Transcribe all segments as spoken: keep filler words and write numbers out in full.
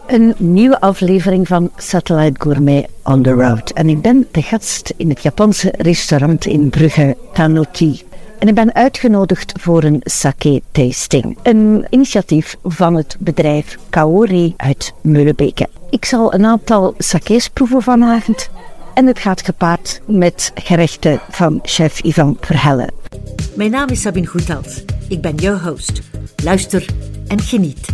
Een nieuwe aflevering van Satellite Gourmet on the Road. En ik ben de gast in het Japanse restaurant in Brugge, Tanuki. En ik ben uitgenodigd voor een sake-tasting. Een initiatief van het bedrijf Kaori uit Meulebeke. Ik zal een aantal sake's proeven vanavond. En het gaat gepaard met gerechten van chef Ivan Verhelle. Mijn naam is Sabine Goethals. Ik ben jouw host. Luister en geniet.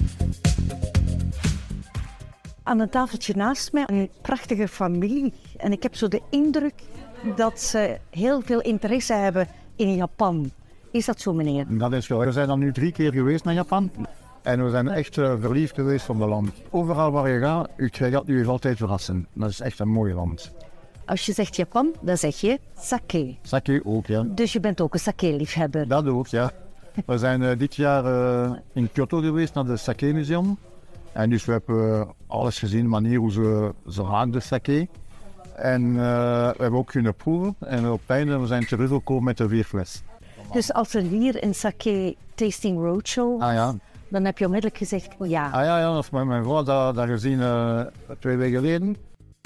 Aan een tafeltje naast mij een prachtige familie. En ik heb zo de indruk dat ze heel veel interesse hebben in Japan. Is dat zo, meneer? Dat is wel. We zijn dan nu drie keer geweest naar Japan. En we zijn echt uh, verliefd geweest op het land. Overal waar je gaat, je gaat u altijd verrassen. Dat is echt een mooi land. Als je zegt Japan, dan zeg je sake. Sake ook, ja. Dus je bent ook een sake-liefhebber? Dat ook, ja. We zijn uh, dit jaar uh, in Kyoto geweest naar het Sake-museum. En dus we hebben uh, alles gezien, de manier hoe ze, ze maken de sake. En uh, we hebben ook kunnen proeven. En op het einde we zijn teruggekomen met de vier fles. Dus als er hier een sake-tasting roadshow was, ah, ja. dan heb je onmiddellijk gezegd ja. Ah ja, ja, dat is met mijn vrouw dat, dat gezien uh, twee weken geleden.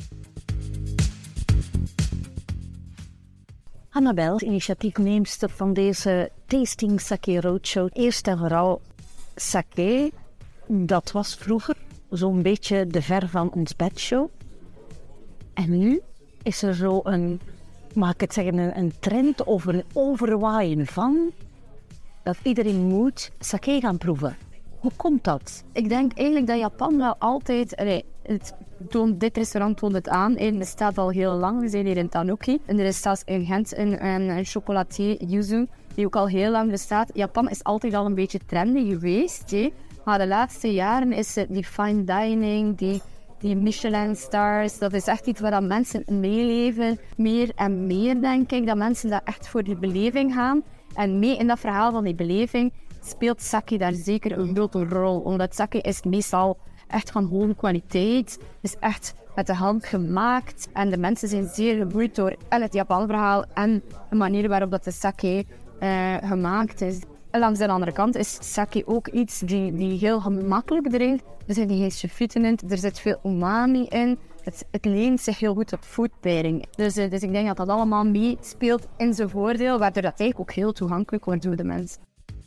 Annabel, initiatiefneemster van deze Tasting Sake Roadshow. Eerst en vooral sake, dat was vroeger zo'n beetje de ver van ons bedshow. En nu is er zo een, mag ik het zeggen, een, een trend of een overwaaien van dat iedereen moet sake gaan proeven. Hoe komt dat? Ik denk eigenlijk dat Japan wel altijd... Allee, het toont, dit restaurant toont het aan. Het bestaat al heel lang. We zijn hier in Tanuki. En er is zelfs in Gent een, een, een chocolatier, Yuzu, die ook al heel lang bestaat. Japan is altijd al een beetje trendy geweest. He. Maar de laatste jaren is het die fine dining, die, die Michelin stars. Dat is echt iets waar mensen meeleven. Meer en meer, denk ik. Dat mensen daar echt voor die beleving gaan. En mee in dat verhaal van die beleving speelt sake daar zeker een grote rol. Omdat sake is meestal echt van hoge kwaliteit. Het is echt met de hand gemaakt. En de mensen zijn zeer geboeid door en het Japan-verhaal en de manier waarop dat de sake uh, gemaakt is. En langs de andere kant is sake ook iets die, die heel gemakkelijk drinkt. Er zitten geen sulfieten in, er zit veel umami in. Het, het leent zich heel goed op food pairing. Dus, uh, dus ik denk dat dat allemaal meespeelt in zijn voordeel, waardoor dat eigenlijk ook heel toegankelijk wordt door de mensen.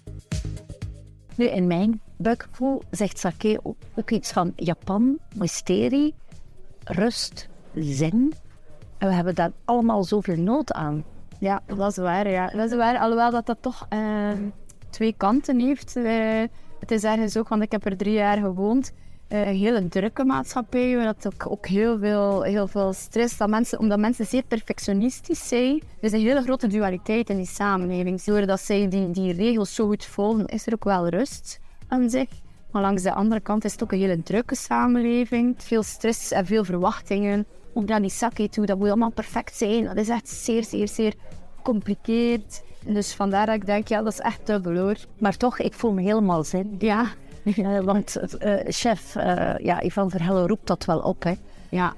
Nu, in mijn buikgevoel zegt sake ook, ook iets van Japan, mysterie, rust, zen. En we hebben daar allemaal zoveel nood aan. Ja, dat is waar. Ja. Dat is waar, alhoewel dat dat toch uh, twee kanten heeft. Uh, het is ergens ook, want ik heb er drie jaar gewoond. Uh, een hele drukke maatschappij, waar dat ook, ook heel, veel, heel veel stress, dat mensen, omdat mensen zeer perfectionistisch zijn. Er is een hele grote dualiteit in die samenleving. Doordat zij die, die regels zo goed volgen, is er ook wel rust aan zich. Maar langs de andere kant is het ook een hele drukke samenleving. Veel stress en veel verwachtingen. Ook naar die sake toe, dat moet allemaal perfect zijn. Dat is echt zeer, zeer, zeer gecompliceerd. Dus vandaar dat ik denk, ja, dat is echt dubbel hoor. Maar toch, ik voel me helemaal zin. Ja. Uh, want uh, chef uh, ja, Ivan Verhelle roept dat wel op, hè? Ja.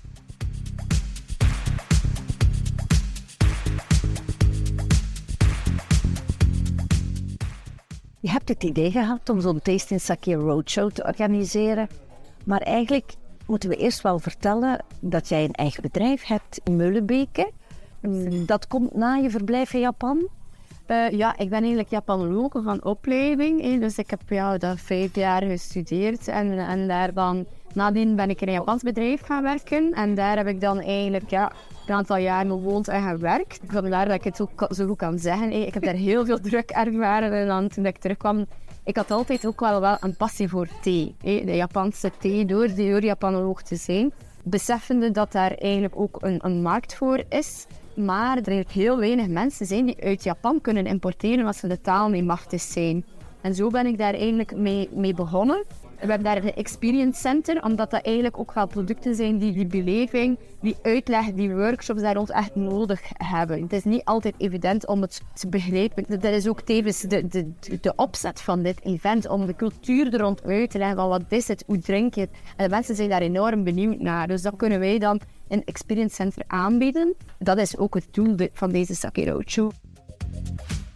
Je hebt het idee gehad om zo'n Tasting Sake Roadshow te organiseren. Maar eigenlijk moeten we eerst wel vertellen dat jij een eigen bedrijf hebt in Meulebeke. Dat komt na je verblijf in Japan. Uh, ja, ik ben eigenlijk Japanologe van opleiding. Hè. Dus ik heb ja, dat vijf jaar gestudeerd. En, en daar dan, nadien ben ik in een Japans bedrijf gaan werken. En daar heb ik dan eigenlijk ja, een aantal jaar gewoond en gewerkt. Vandaar dat ik het ook zo goed kan zeggen. Hè. Ik heb daar heel veel druk ervaren. En dan toen ik terugkwam, ik had altijd ook wel, wel een passie voor thee. Hè. De Japanse thee, door, door Japanoloog te zijn. Beseffende dat daar eigenlijk ook een, een markt voor is. Maar er zijn heel weinig mensen zijn die uit Japan kunnen importeren als ze de taal niet machtig zijn. En zo ben ik daar eigenlijk mee, mee begonnen. We hebben daar een experience center, omdat dat eigenlijk ook wel producten zijn die die beleving, die uitleg, die workshops daar rond echt nodig hebben. Het is niet altijd evident om het te begrijpen. Dat is ook tevens de, de, de opzet van dit event, om de cultuur er rond uit te leggen van wat is het, hoe drink je het. En de mensen zijn daar enorm benieuwd naar. Dus dat kunnen wij dan in Experience Center aanbieden. Dat is ook het doel van deze Sake Roadshow.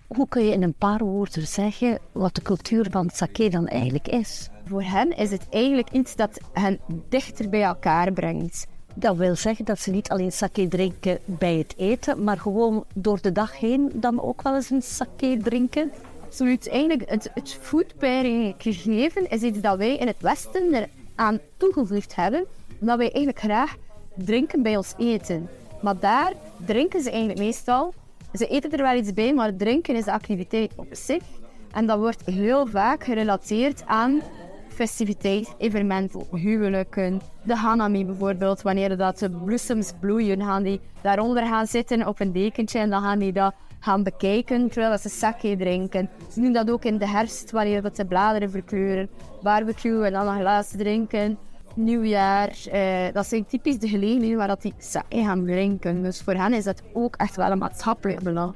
Hoe kun je in een paar woorden zeggen wat de cultuur van sake dan eigenlijk is? Voor hen is het eigenlijk iets dat hen dichter bij elkaar brengt. Dat wil zeggen dat ze niet alleen sake drinken bij het eten, maar gewoon door de dag heen dan ook wel eens een sake drinken. Absoluut. Eigenlijk het, het food pairing gegeven is iets dat wij in het Westen eraan toegevoegd hebben. Omdat wij eigenlijk graag drinken bij ons eten. Maar daar drinken ze eigenlijk meestal. Ze eten er wel iets bij, maar drinken is de activiteit op zich. En dat wordt heel vaak gerelateerd aan festiviteit, evenementen, huwelijken. De hanami bijvoorbeeld, wanneer dat de bloesems bloeien, gaan die daaronder gaan zitten op een dekentje en dan gaan die dat gaan bekijken terwijl ze sake drinken. Ze doen dat ook in de herfst, wanneer dat de bladeren verkleuren. Barbecue en dan een glaas drinken. Nieuwjaar, eh, dat zijn typisch de gelegenheden waar dat die sake gaan drinken. Dus voor hen is dat ook echt wel een maatschappelijk belang.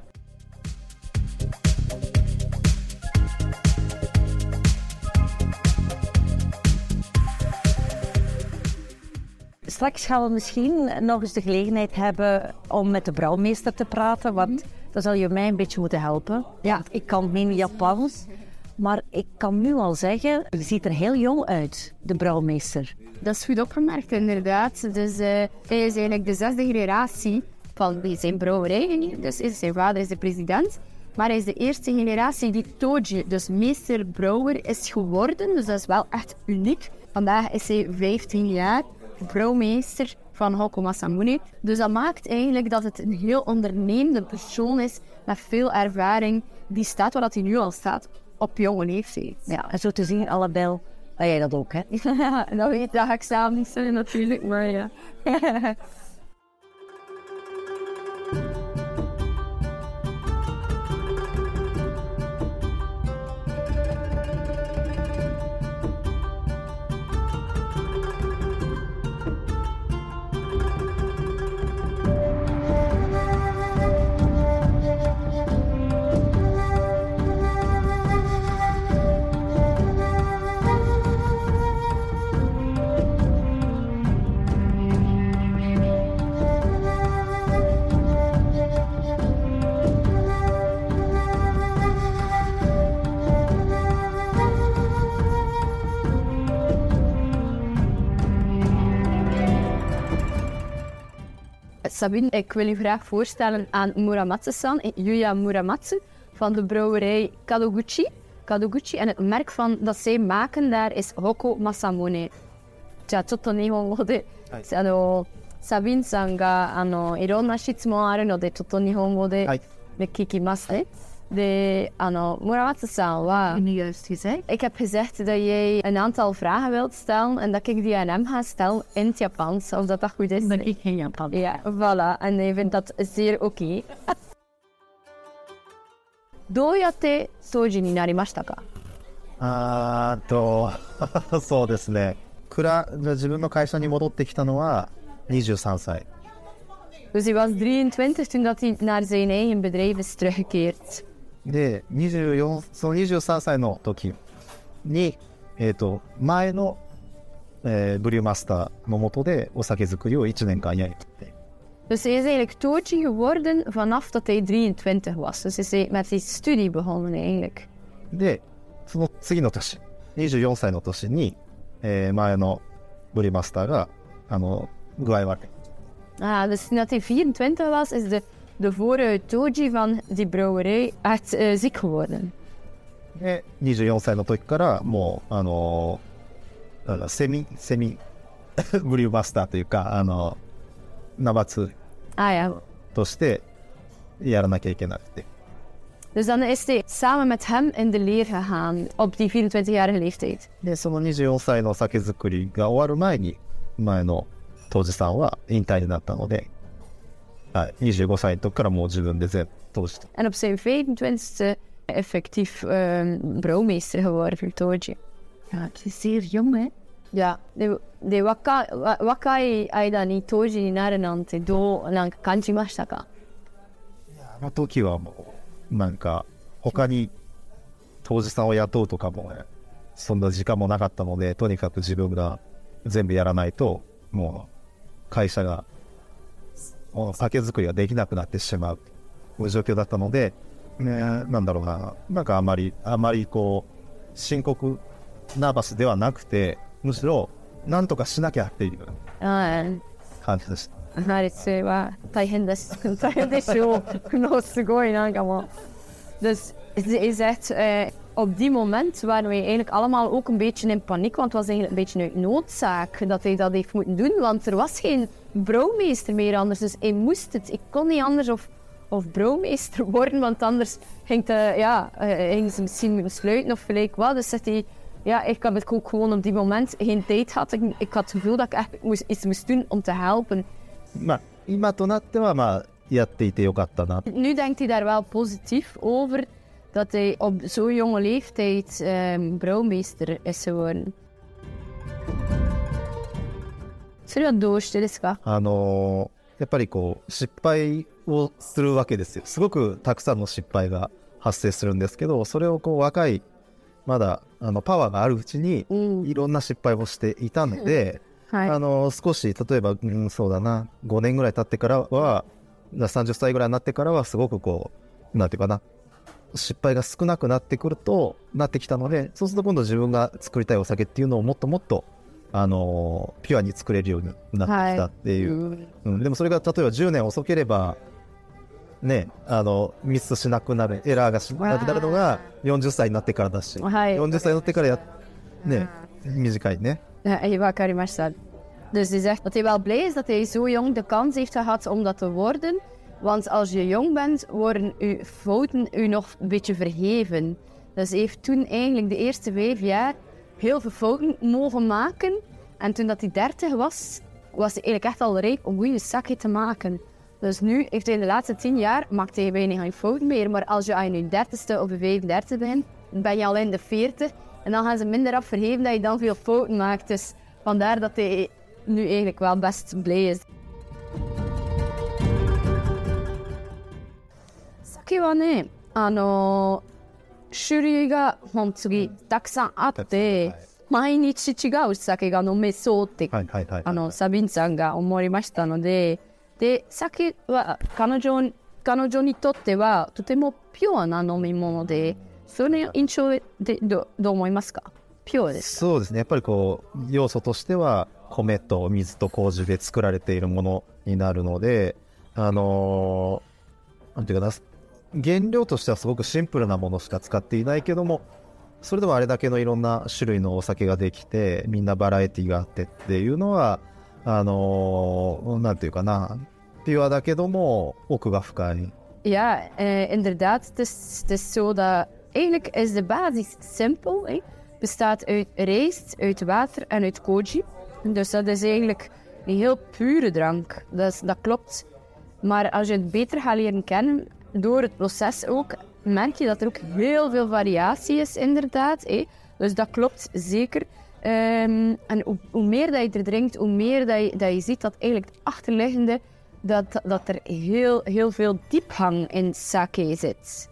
Straks gaan we misschien nog eens de gelegenheid hebben om met de brouwmeester te praten, want dan zal je mij een beetje moeten helpen. Ja, ik kan geen Japans, maar ik kan nu al zeggen, je ziet er heel jong uit, de brouwmeester. Dat is goed opgemerkt, inderdaad. Dus uh, hij is eigenlijk de zesde generatie van zijn brouwerij. Dus zijn vader is de president. Maar hij is de eerste generatie die toji, dus meester-brouwer, is geworden. Dus dat is wel echt uniek. Vandaag is hij vijftien jaar brouwmeester van Hoko Masamune. Dus dat maakt eigenlijk dat het een heel ondernemende persoon is met veel ervaring. Die staat waar hij nu al staat, op jonge leeftijd. Ja, en zo te zien, Annabel, ben jij dat ook, hè? Ja, dat weet dat ga ik zelf niet zeggen natuurlijk, maar ja. Sabine, ik wil u graag voorstellen aan Muramatsu-san, Yuya Muramatsu, van de brouwerij Kadoguchi. Kadoguchi en het merk van, dat zij maken daar is Hoko Masamune. Ja, chotto nihongo de, ano, Sabine-san ga, ano, ironna shitsumon aru no de, chotto nihongo de, de kikimasu. De, ano, Muramatsu-san wa... Nu juist gezegd. Ik heb gezegd dat jij een aantal vragen wilt stellen en dat ik die aan hem ga stellen in het Japans, of dat dat goed is. Ben ik geen Japans. Ja, voilà. En hij vindt dat zeer oké. Okay. どうやって杜氏になりましたか？ あーとそうですね。くら自分の会社に戻ってきたのはにじゅうさんさい。 Dus hij was drieëntwintig toen dat hij naar zijn eigen bedrijf is teruggekeerd. で、にじゅうよんそのにじゅうさんさいの時に、えーと、前の、えー、ブリューマスターの下でお酒作りをいちねんかんやりて。 Dus hij is eigenlijk toji geworden vanaf dat hij drieëntwintig was. Dus is hij met die studie begonnen eigenlijk. で、その次の年、にじゅうよんさいの年に、えー、前のブリューマスターがあの具合悪い。 Ah, dus toen hij vierentwintig was, is de, de vorige toji van die brouwerij echt uh, ziek geworden. で、にじゅうよんさいの時からもうあのー、セミセミブリューマスターというかあのナバツ Ah ja. としてやらなきゃいけなくて。 Dus dan is hij samen met hem in de leer gegaan op die vierentwintigjarige leeftijd. で、そのにじゅうよんさいの酒造りが終わる前に前の杜氏さんは引退になったので、はい、にじゅうごさいの時からもう自分で全部杜氏と。 En op zijn vijfentwintigste effectief uh, brouwmeester geworden voor Toji. Ja, het is zeer jong, hè? Ja, de, de waka, wakai aida ni Tojiになるなんてどうなんか感じましたか？ あの時はもうなんか他に杜氏さんを雇うとかも、ね、そんな時間もなかったので、とにかく自分が全部やらないともう会社がもう酒造りができなくなってしまうという状況だったので、 ね、なんだろうな、なんかあまり、あまりこう、深刻ナーバスではなくて、むしろ、なんとかしなきゃっていう感じでした。 はい、それは大変です。大変でしょう。のすごいなんかもう。Dus je zegt, uh, op die moment waren wij eigenlijk allemaal ook een beetje in paniek, want het was eigenlijk een beetje uit noodzaak dat hij dat heeft moeten doen, want er was geen brouwmeester meer anders, dus hij moest het. Ik kon niet anders of, of brouwmeester worden, want anders ging, de, ja, uh, ging ze misschien moeten sluiten of gelijk wat. Dus zegt hij, ja, ik heb het ook gewoon op die moment geen tijd gehad. Ik, ik had het gevoel dat ik echt moest, iets moest doen om te helpen. まあ、今となってはまあやっていてよかったな。 Nu denkt hij daar wel positief over dat hij op zo'n jonge leeftijd um, brouwmeester is geworden. それはどうしてですか？ あのー、やっぱりこう失敗をするわけですよ。すごくたくさんの失敗が発生するんですけど、それをこう若いまだあのパワーがあるうちにいろんな失敗をしていたので、うんはい、あの少し例えば、うん、そうだなごねんぐらい経ってからはさんじゅっさいぐらいになってからはすごくこうなんていうかな失敗が少なくなってくるとなってきたので、そうすると今度自分が作りたいお酒っていうのをもっともっとあのピュアに作れるようになってきたっていう、はいうん、でもそれが例えばじゅうねん遅ければね、あのミスしなくなるエラーがしなくなるのがよんじゅっさいになってからだし、はい、よんじゅっさいになってからやね短いね。 Ja,わかりました。Dus hij zegt dat hij wel blij is dat hij zo jong de kans heeft gehad om dat te worden. Want als je jong bent, worden uw fouten u nog een beetje vergeven. Dus hij heeft toen eigenlijk de eerste vijf jaar heel veel fouten mogen maken. En toen dat hij dertig was, was hij eigenlijk echt al rijp om goede sake te maken. Dus nu heeft hij in de laatste tien jaar, maakt hij weinig geen fouten meer. Maar als je aan je dertigste of je vijfendertigste bent, ben je al in de veertig. En dan gaan ze minder af vergeven dat je dan veel fouten maakt. Dus vandaar dat hij nu eigenlijk wel best blij is. Sake wa ne, ano, 種類が本当にたくさんあって、毎日違う酒が飲めそうって、あのサビンさんが思いましたので、で酒は彼女彼女にとってはとてもピュアな飲み物で、その印象で ど, どう思いますか？ピュアですか？ そうですね。やっぱりこう要素としては米と水と麹で作られているものになるので、あのー、なんていうかな、原料としてはすごくシンプルなものしか使っていないけども、それでもあれだけのいろんな種類のお酒ができて、みんなバラエティがあってっていうのは、あのー、なんていうかな、ピュアだけども奥が深い。 Ja, uh, inderdaad. Het is, het is zo dat eigenlijk is de basis simpel. Het bestaat uit rijst, uit water en uit koji. Dus dat is eigenlijk een heel pure drank. Dat, is, dat klopt. Maar als je het beter gaat leren kennen, door het proces ook, merk je dat er ook heel veel variatie is, inderdaad. Hè? Dus dat klopt zeker. Um, en hoe, hoe meer dat je er drinkt, hoe meer dat je, dat je ziet dat eigenlijk het achterliggende, dat, dat er heel, heel veel diepgang in sake zit.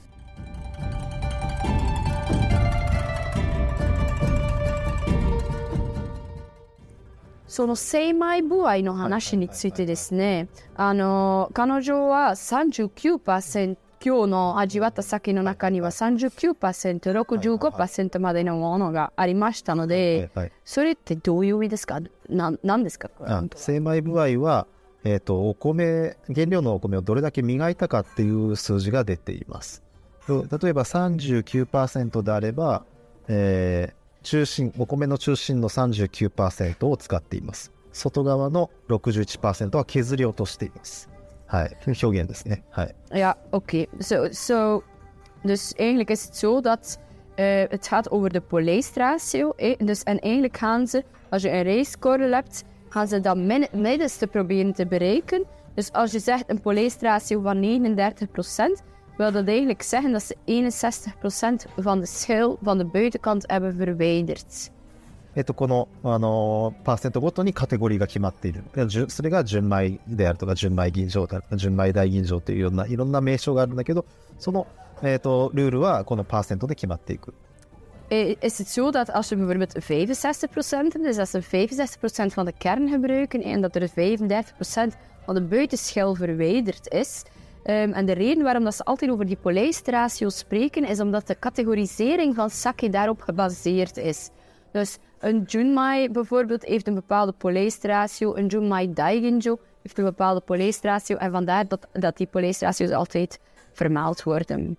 その精米部合の話についてですね、あの彼女は さんじゅうきゅうパーセント 今日の味わった酒の中には さんじゅうきゅうパーセント、ろくじゅうごパーセント までのものがありましたので、はいはい、それってどういう意味ですか？な、なんですか？ あ、精米部合は、えーと、お米、原料のお米をどれだけ磨いたかっていう数字が出ています。例えば さんじゅうきゅうパーセント であれば、えー中心、お米の中心の さんじゅうきゅうパーセント を使っています。外側の ろくじゅういちパーセント は削り落としています。はい、表現ですね。はい。 Ja, oké. Zo, zo, dus eigenlijk is het zo dat uh, het gaat over de polijstratio. Eh? Dus, en eigenlijk gaan ze, als je een rijstkorrel hebt, gaan ze dat min, middenste proberen te bereiken. Dus als je zegt een polijstratio van negenendertig procent, wil dat eigenlijk zeggen dat ze eenenzestig procent van de schil van de buitenkant hebben verwijderd. えっと、この、あのー、パーセントごとにカテゴリーが決まっている。それが純米であるとか、純米吟醸であるとか、純米大吟醸というような、いろんな名称があるんだけど、その、えっと、ルールはこのパーセントで決まっていく。 Is het zo dat als je bijvoorbeeld vijfenzestig procent hebt, dus als ze vijfenzestig procent van de kern gebruiken en dat er vijfendertig procent van de buitenschil verwijderd is, Um, en de reden waarom dat ze altijd over die polijstratio spreken, is omdat de categorisering van sake daarop gebaseerd is. Dus een Junmai bijvoorbeeld heeft een bepaalde polijstratio, een Junmai Daiginjo heeft een bepaalde polijstratio en vandaar dat, dat die polijstratio's altijd vermeld worden.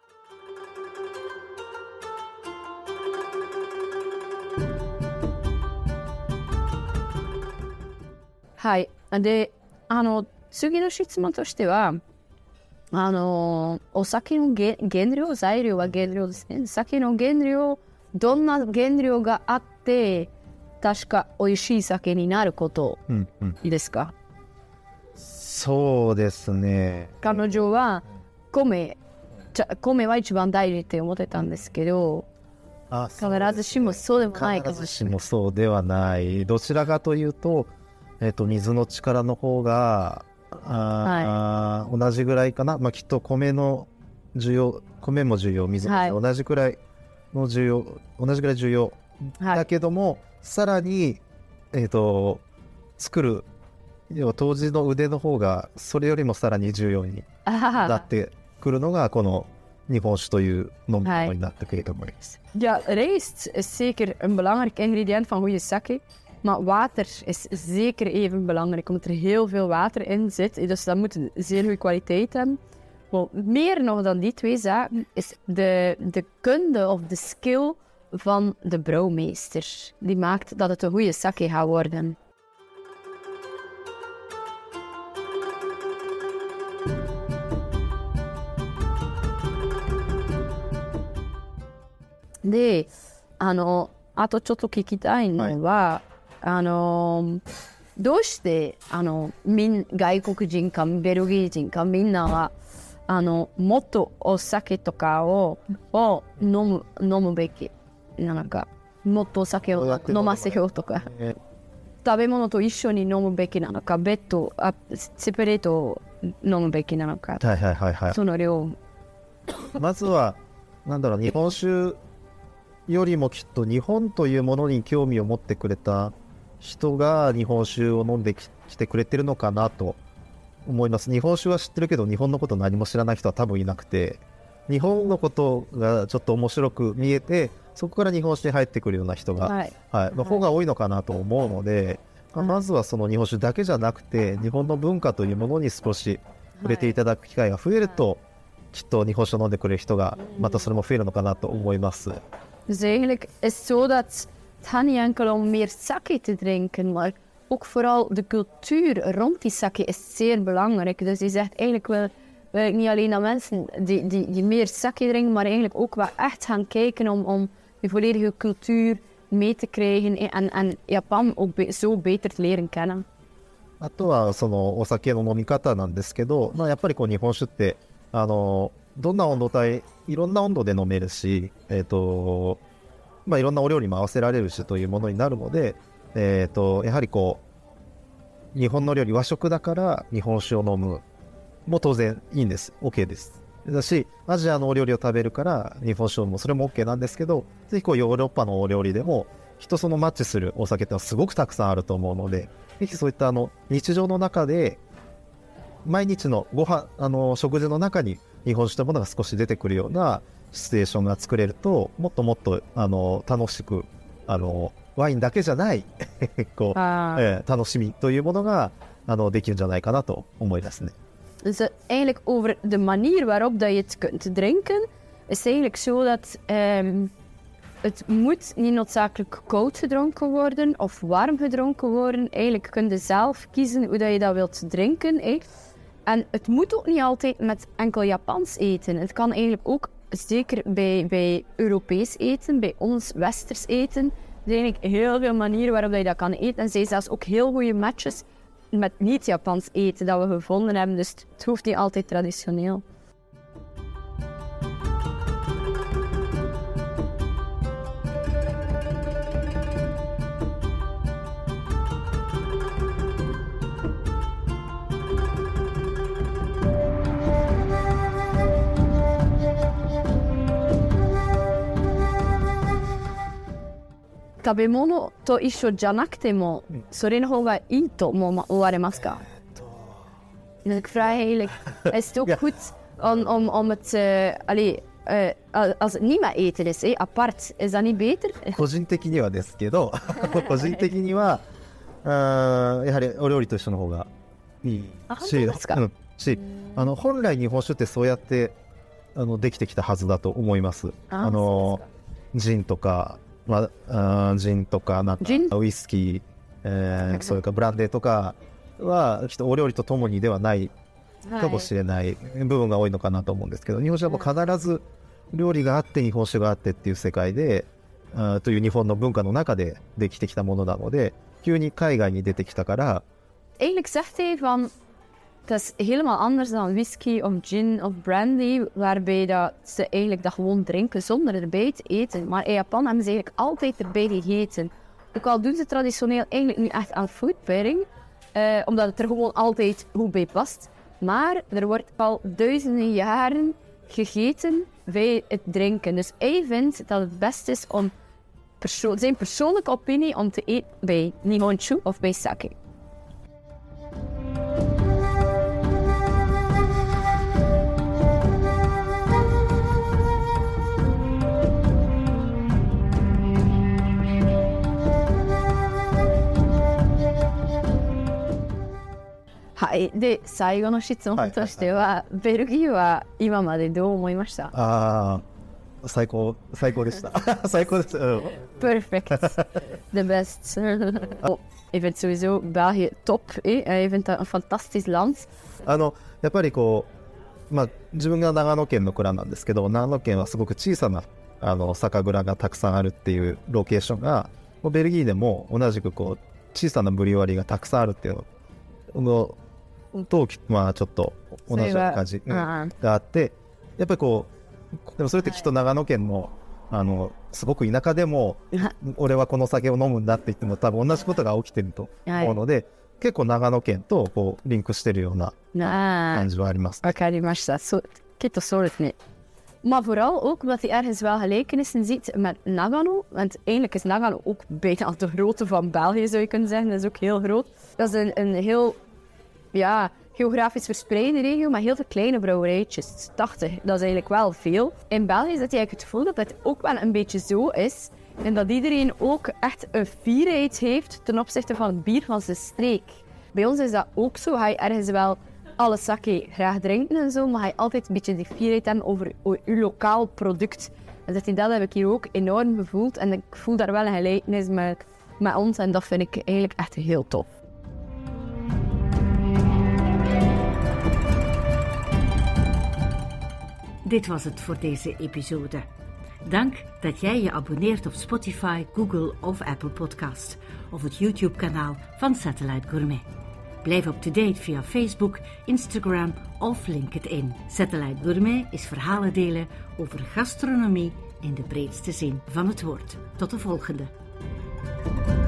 Hai, de, ano, tsugi no shitsuman toshite wa, ano, o sake no genryo, zairyo wa genryo desu ne. Sake no genryo, donna genryo ga atte, tashika oishii sake ni naru koto desu ka? そうですね。 彼女は米、米は一番大事って思ってたんですけど、 あ、 必ずしもそうでもないかも必ずしれない。 しもそうではない。どちらかというと、えっと、水の力の方が、あ、はい、同じぐらいかな。まあ、きっと米の需要、米も重要、水も重要、はい、同じくらいの重要、同じぐらい重要。はい、だけども、さらに、えっと、作る、要は当時の腕の方がそれよりもさらに重要になってくるのがこの日本酒という飲み物になってくると思います。 Ja, rijst is zeker een belangrijk ingrediënt van goede sake, maar water is zeker even belangrijk, omdat er heel veel water in zit. Dus dat moet een zeer goede kwaliteit hebben. Wel, meer nog dan die twee zaken is de, de kunde of de skill van de brouwmeester. Die maakt dat het een goede sake gaat worden. De, あの、あとちょっと聞きたいのは、はい、あの、どうして、あの、みん、外国人かベルギー人かみんなは、あの、もっとお酒とかを、を飲む、飲むべきなのか、もっとお酒を飲ませようとか、食べ物と一緒に飲むべきなのか、別途、あ、セパレートを飲むべきなのか、 はいはいはいはい、 その量。 まずは、なんだろう、日本酒よりもきっと日本というものに興味を持ってくれた人が日本酒を飲んできてくれてるのかなと思います。日本酒は知ってるけど日本のこと何も知らない人は多分いなくて、日本のことがちょっと面白く見えてそこから日本酒に入ってくるような人が、はいはい、の方が多いのかなと思うので、はい、まずはその日本酒だけじゃなくて日本の文化というものに少し触れていただく機会が増えると、はい、きっと日本酒を飲んでくれる人がまたそれも増えるのかなと思います。 Dus eigenlijk is het zo dat het gaat niet enkel om meer sake te drinken, maar ook vooral de cultuur rond die sake is zeer belangrijk. Dus je zegt eigenlijk wel, wil ik niet alleen naar mensen die, die, die meer sake drinken, maar eigenlijk ook wel echt gaan kijken om, om die volledige cultuur mee te krijgen en, en Japan ook be, zo beter te leren kennen. あとはそのお酒の飲み方なんですけど、まあ、やっぱりこう日本酒ってあのどんな温度帯、いろんな温度で飲めるし、えっと、まあいろんなお料理も合わせられるしというものになるので、えっと、やはりこう、日本の料理、和食だから日本酒を飲むも当然いいんです。OK です。だし、アジアのお料理を食べるから日本酒を飲む、それも OK なんですけど、ぜひこうヨーロッパのお料理でも、人そのマッチするお酒ってのはすごくたくさんあると思うので、ぜひそういったあの日常の中で、毎日のご飯、あの食事の中に日本酒というものが少し出てくるようなシチュエーションが作れると、もっともっとあの楽しく、あのワインだけじゃないこう、えー、楽しみというものがあのできるんじゃないかなと思いますね。 Dus eigenlijk over de manier waarop dat je het kunt drinken, is eigenlijk zo dat um, het moet niet noodzakelijk koud gedronken worden of warm gedronken worden. Eigenlijk kun je zelf kiezen hoe dat je dat wilt drinken. Eh? En het moet ook niet altijd met enkel Japans eten. Het kan eigenlijk ook, zeker bij, bij Europees eten, bij ons Westers eten. Er zijn eigenlijk heel veel manieren waarop je dat kan eten. En er zijn zelfs ook heel goede matches met niet-Japans eten dat we gevonden hebben. Dus het hoeft niet altijd traditioneel. Tabemono to issho janakute mo, sore no hou ga ii to mo owaremasu ka? Dus ik vraag eigenlijk, is het ook ja. goed om, om, om het, uh, allee, uh, als het niet met eten is, eh, apart, is dat niet beter? 個人的にはですけど、個人的には、あやはりお料理と一緒の方がいいし、うん、し、あの本来日本酒ってそうやってあのできてきたはずだと思います。あ, あのジンとか、まあ、ジンとかなんかウイスキー、えー、それからブランデーとかはきっとお料理とともにではないかもしれない部分が多いのかなと思うんですけど、日本酒はもう必ず料理があって日本酒があってっていう世界で、あという日本の文化の中でできてきたものなので、急に海外に出てきたから。 Eigenlijk zegt hij van, het is helemaal anders dan whisky of gin of brandy, waarbij dat ze eigenlijk dat gewoon drinken zonder erbij te eten. Maar in Japan hebben ze eigenlijk altijd erbij gegeten. Ook al doen ze traditioneel eigenlijk nu echt aan food pairing, uh, omdat het er gewoon altijd goed bij past. Maar er wordt al duizenden jaren gegeten bij het drinken. Dus hij vindt dat het best is om perso- zijn persoonlijke opinie om te eten bij Nihonshu of bij sake. はい、で最後の質問としては、はいはいはい、ベルギーは今までどう思いました？ ああ、最高最高でした。最高です。 Perfect, the best. Ik vind sowieso België top. Ik vind dat een fantastisch land. あのやっぱりこう、まあ自分が長野県の蔵なんですけど、長野県はすごく小さなあの酒蔵がたくさんあるっていうロケーションが、ベルギーでも同じくこう小さなブリュワリーがたくさんあるっていうのと、まあちょっと同じような感じがあって、やっぱりこうでもそれってきっと長野県のあのすごく田舎でも俺はこの酒を飲むんだって言っても多分同じことが起きてると思うので、はい、結構長野県とこうリンクしてるような感じはあります。 わかりました。そう、きっとそうですね。Maar vooral ook omdat hij ergens wel gelijkenissen ziet met Nagano. Want eigenlijk is Nagano ook bijna de grootte van België, zou je kunnen zeggen. Dat is ook heel groot. Dat is een, een heel ja, geografisch verspreide regio met heel veel kleine brouwerijtjes. tachtig, dat is eigenlijk wel veel. In België is dat eigenlijk het gevoel dat het ook wel een beetje zo is. En dat iedereen ook echt een fierheid heeft ten opzichte van het bier van zijn streek. Bij ons is dat ook zo. Ga je ergens wel alle sake graag drinken en zo, maar ga je altijd een beetje die fierheid hebben over je lokaal product. En dat, dat heb ik hier ook enorm gevoeld. En ik voel daar wel een gelijkenis met, met ons en dat vind ik eigenlijk echt heel tof. Dit was het voor deze episode. Dank dat jij je abonneert op Spotify, Google of Apple Podcast of het YouTube-kanaal van Satellite Gourmet. Blijf up-to-date via Facebook, Instagram of LinkedIn. Satellite Gourmet is verhalen delen over gastronomie in de breedste zin van het woord. Tot de volgende.